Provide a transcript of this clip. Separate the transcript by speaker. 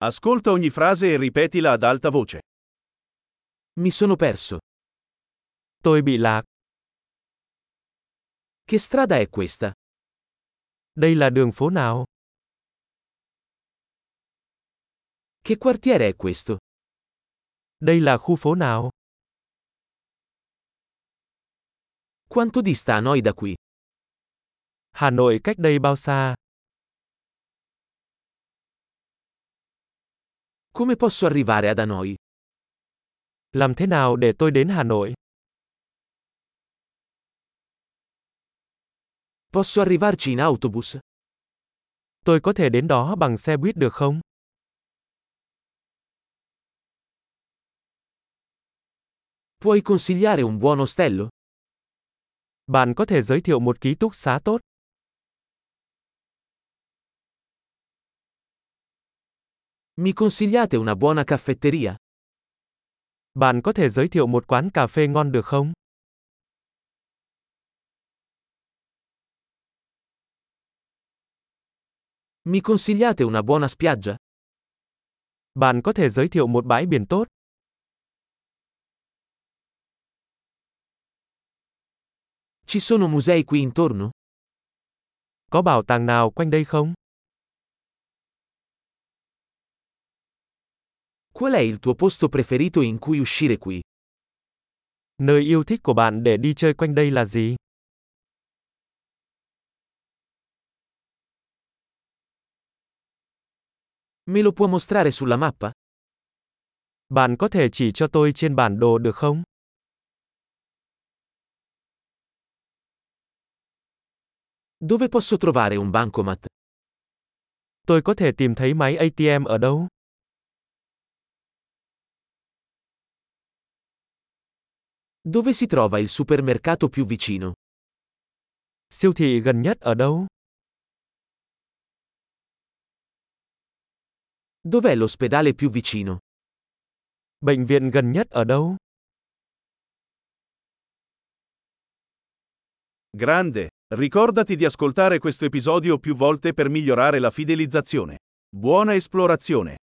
Speaker 1: Ascolta ogni frase e ripetila ad alta voce.
Speaker 2: Mi sono perso.
Speaker 3: Tôi bị lạc.
Speaker 2: Che strada è questa?
Speaker 3: Đây là đường phố nào?
Speaker 2: Che quartiere è questo?
Speaker 3: Đây là khu phố nào?
Speaker 2: Quanto dista Hanoi da qui?
Speaker 3: Hà Nội cách đây bao xa?
Speaker 2: Come posso arrivare ad Hanoi?
Speaker 3: Làm thế nào để tôi đến Hà Nội?
Speaker 2: Posso arrivarci in autobus?
Speaker 3: Tôi có thể đến đó bằng xe buýt được không?
Speaker 2: Puoi consigliare un buon ostello?
Speaker 3: Bạn có thể giới thiệu một ký túc xá tốt.
Speaker 2: Mi consigliate una buona caffetteria?
Speaker 3: Bạn có thể giới thiệu một quán cà phê ngon được không?
Speaker 2: Mi consigliate una buona spiaggia?
Speaker 3: Bạn có thể giới thiệu một bãi biển tốt.
Speaker 2: Ci sono musei qui intorno?
Speaker 3: Có bảo tàng nào quanh đây không?
Speaker 2: Qual è il tuo posto preferito in cui uscire qui?
Speaker 3: Nơi yêu thích của bạn để đi chơi quanh đây là gì?
Speaker 2: Me lo può mostrare sulla mappa?
Speaker 3: Bạn có thể chỉ cho tôi trên bản đồ được không?
Speaker 2: Dove posso trovare un bancomat?
Speaker 3: Tôi có thể tìm thấy máy ATM ở đâu?
Speaker 2: Dove si trova il supermercato più vicino?
Speaker 3: Siêu thị gần nhất ở đâu?
Speaker 2: Dov'è l'ospedale più vicino?
Speaker 3: Bệnh viện gần nhất ở đâu?
Speaker 1: Grande! Ricordati di ascoltare questo episodio più volte per migliorare la fidelizzazione. Buona esplorazione!